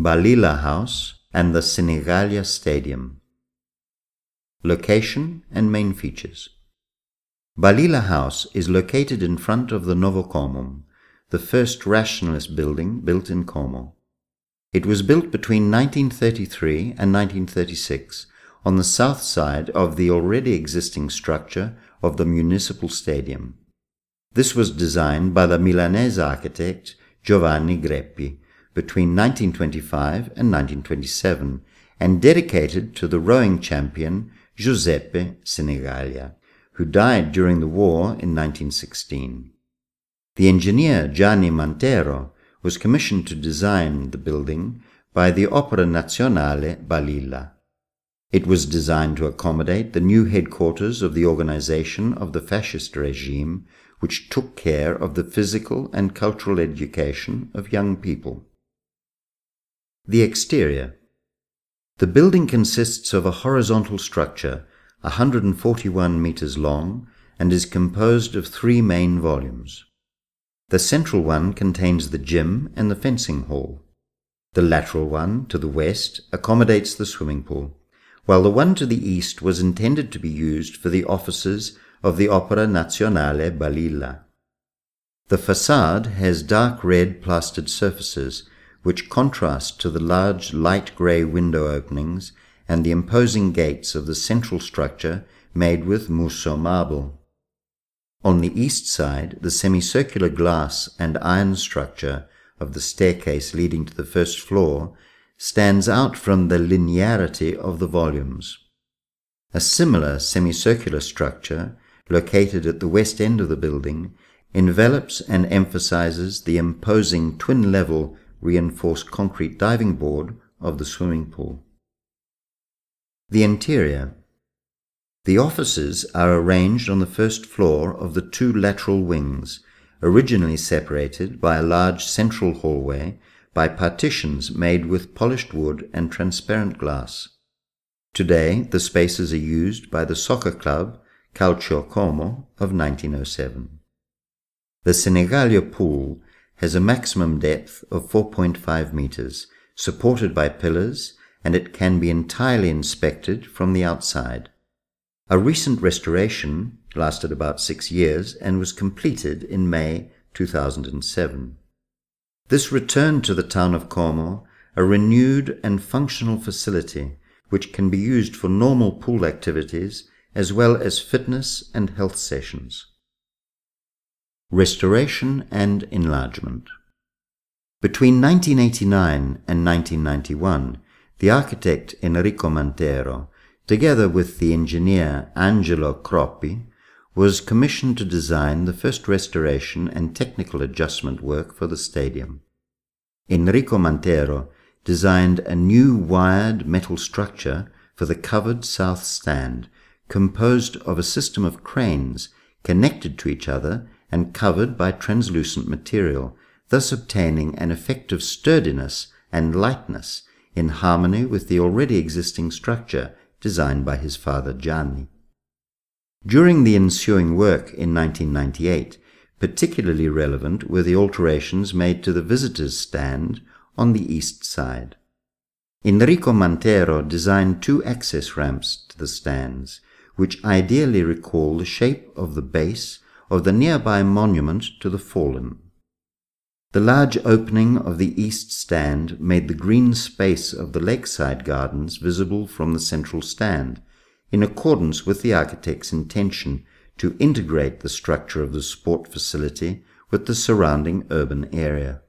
Balila House and the Senigallia Stadium. Location and main features. Balila House is located in front of the Novocomum, the first rationalist building built in Como. It was built between 1933 and 1936 on the south side of the already existing structure of the municipal stadium. This was designed by the Milanese architect Giovanni Greppi between 1925 and 1927 and dedicated to the rowing champion Giuseppe Senigallia, who died during the war in 1916. The engineer Gianni Mantero was commissioned to design the building by the Opera Nazionale Balilla. It was designed to accommodate the new headquarters of the organization of the fascist regime, which took care of the physical and cultural education of young people. The exterior. The building consists of a horizontal structure, 141 meters long, and is composed of 3 main volumes. The central one contains the gym and the fencing hall. The lateral one, to the west, accommodates the swimming pool, while the one to the east was intended to be used for the offices of the Opera Nazionale Balilla. The facade has dark red plastered surfaces, which contrast to the large light grey window openings and the imposing gates of the central structure made with Musso marble. On the east side, the semicircular glass and iron structure of the staircase leading to the first floor stands out from the linearity of the volumes. A similar semicircular structure, located at the west end of the building, envelops and emphasizes the imposing twin-level reinforced concrete diving board of the swimming pool. The interior. The offices are arranged on the first floor of the 2 lateral wings, originally separated by a large central hallway by partitions made with polished wood and transparent glass. Today, the spaces are used by the soccer club Calcio Como of 1907. The Senigallia pool has a maximum depth of 4.5 meters, supported by pillars, and it can be entirely inspected from the outside. A recent restoration lasted about 6 years and was completed in May 2007. This returned to the town of Como a renewed and functional facility which can be used for normal pool activities as well as fitness and health sessions. Restoration and enlargement. Between 1989 and 1991, the architect Enrico Mantero, together with the engineer Angelo Croppi, was commissioned to design the first restoration and technical adjustment work for the stadium. Enrico Mantero designed a new wired metal structure for the covered south stand, composed of a system of cranes connected to each other and covered by translucent material, thus obtaining an effect of sturdiness and lightness in harmony with the already existing structure designed by his father Gianni. During the ensuing work in 1998, particularly relevant were the alterations made to the visitors' stand on the east side. Enrico Mantero designed 2 access ramps to the stands, which ideally recall the shape of the base of the nearby monument to the fallen. The large opening of the east stand made the green space of the lakeside gardens visible from the central stand, in accordance with the architect's intention to integrate the structure of the sport facility with the surrounding urban area.